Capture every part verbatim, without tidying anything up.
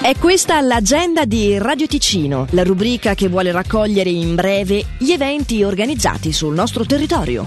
È questa l'agenda di Radio Ticino, la rubrica che vuole raccogliere in breve gli eventi organizzati sul nostro territorio.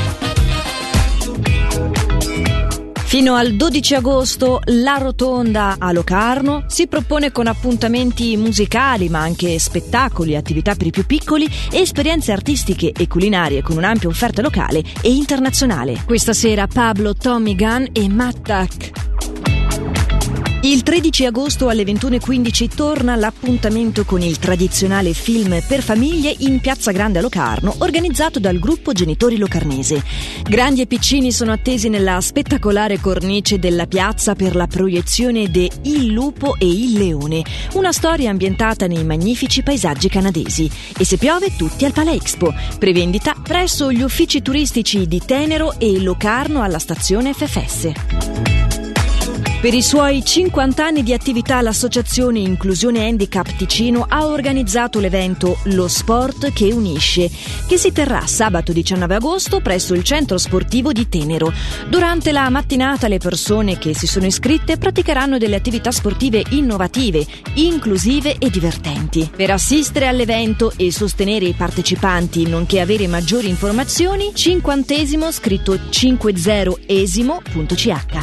Fino al dodici agosto la Rotonda a Locarno si propone con appuntamenti musicali, ma anche spettacoli, attività per i più piccoli e esperienze artistiche e culinarie con un'ampia offerta locale e internazionale. Questa sera Pablo, Tommy Gunn e Matt Duck. Il tredici agosto alle ventuno e quindici torna l'appuntamento con il tradizionale film per famiglie in Piazza Grande a Locarno, organizzato dal gruppo Genitori Locarnese. Grandi e piccini sono attesi nella spettacolare cornice della piazza per la proiezione de Il lupo e il leone, una storia ambientata nei magnifici paesaggi canadesi. E se piove, tutti al Palexpo. Prevendita presso gli uffici turistici di Tenero e Locarno alla stazione F F S. Per i suoi cinquanta anni di attività l'associazione Inclusione Handicap Ticino ha organizzato l'evento Lo Sport che Unisce, che si terrà sabato diciannove agosto presso il centro sportivo di Tenero. Durante la mattinata le persone che si sono iscritte praticheranno delle attività sportive innovative, inclusive e divertenti. Per assistere all'evento e sostenere i partecipanti, nonché avere maggiori informazioni, cinquantesimo scritto cinquantesimo punto c h.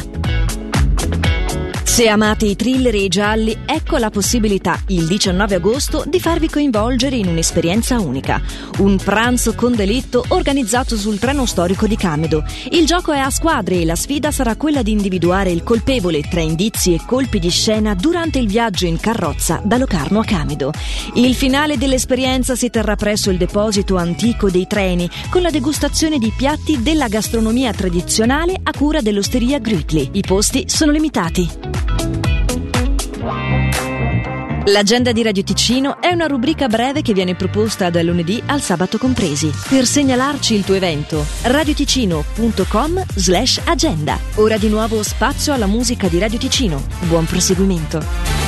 Se amate i thriller e i gialli, ecco la possibilità, il diciannove agosto, di farvi coinvolgere in un'esperienza unica. Un pranzo con delitto organizzato sul treno storico di Camedo. Il gioco è a squadre e la sfida sarà quella di individuare il colpevole tra indizi e colpi di scena durante il viaggio in carrozza da Locarno a Camedo. Il finale dell'esperienza si terrà presso il deposito antico dei treni, con la degustazione di piatti della gastronomia tradizionale a cura dell'osteria Grütli. I posti sono limitati. L'agenda di Radio Ticino è una rubrica breve che viene proposta dal lunedì al sabato compresi. Per segnalarci il tuo evento, radioticino punto com slash agenda. Ora di nuovo spazio alla musica di Radio Ticino. Buon proseguimento.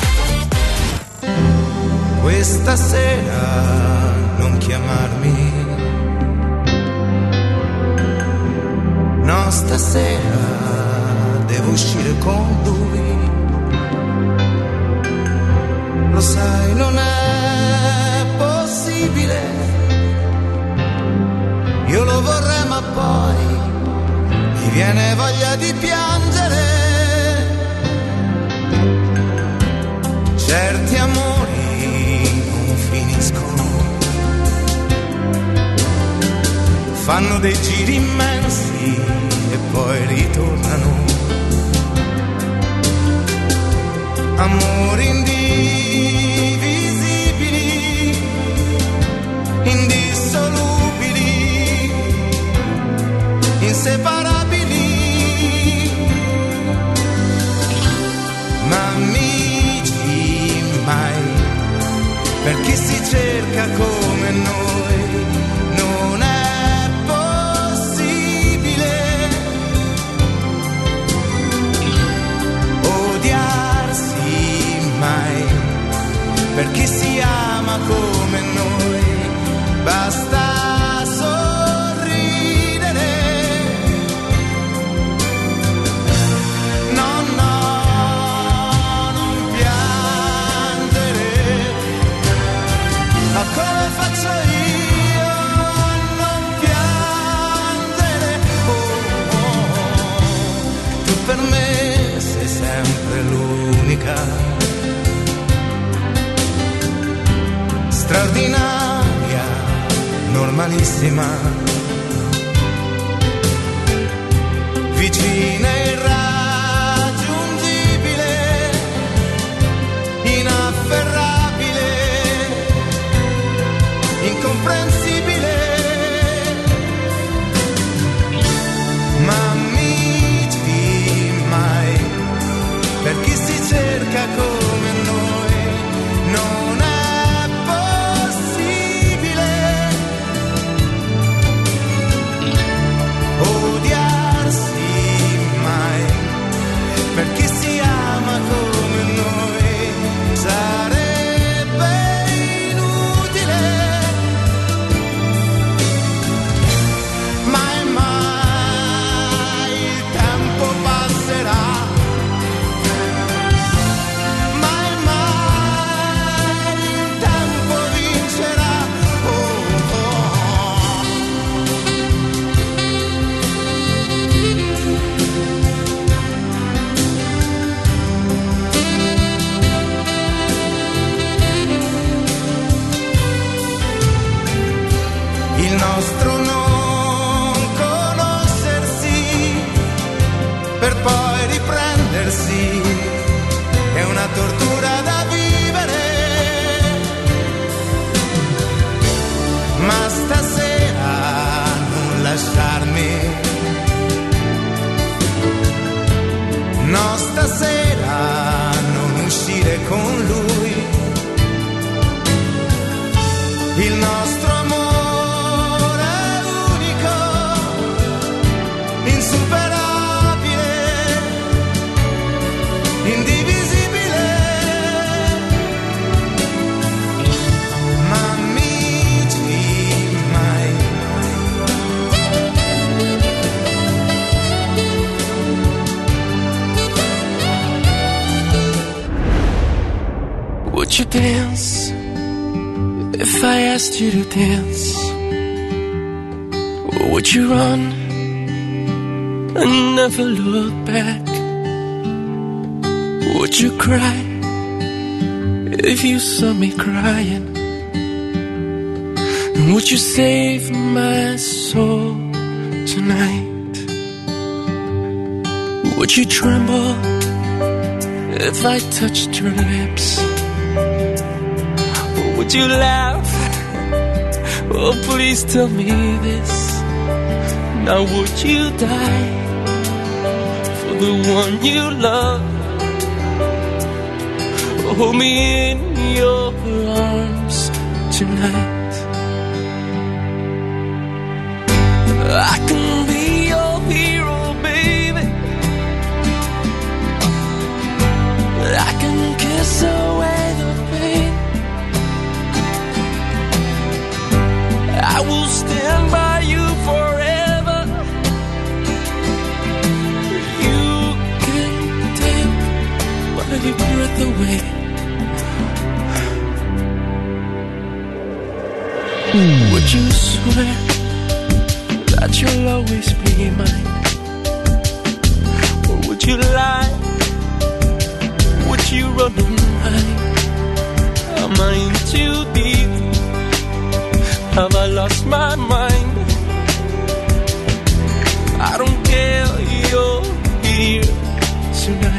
Questa sera non chiamarmi, no, stasera devo uscire con lui. Lo sai, non è possibile. Io lo vorrei, ma poi mi viene voglia di piangere. Certi amori non finiscono, fanno dei giri immensi e poi ritornano. Amori indivisibili, indissolubili, inseparabili, ma amici mai, per chi si cerca come noi, non è possibile odiarsi mai, per chi si ama come noi, basta sorridere. No, no, non piangere, ma come faccio io a non piangere? Oh, oh, tu per me sei sempre l'unica, straordinaria, normalissima, vicina e irraggiungibile, inafferrabile, incomprensibile, ma amici mai, per chi si cerca come noi, non è odiarsi mai, riprendersi è una tortura da vivere, ma stasera non lasciarmi, no stasera non uscire con lui, il nostro amore è unico, insuperabile, indivisibile, ma amici mai. Would you dance if I asked you to dance? Or would you run and never look back? Would you cry if you saw me crying? And would you save my soul tonight? Would you tremble if I touched your lips? Or would you laugh? Oh, please tell me this. Now would you die for the one you love? Hold me in your arms tonight. I can be your hero, baby. I can kiss away the pain. I will stand by you forever. You can take my breath away. Would you swear that you'll always be mine? Or would you lie? Would you run and hide? Am I in too deep? Have I lost my mind? I don't care, you're here tonight.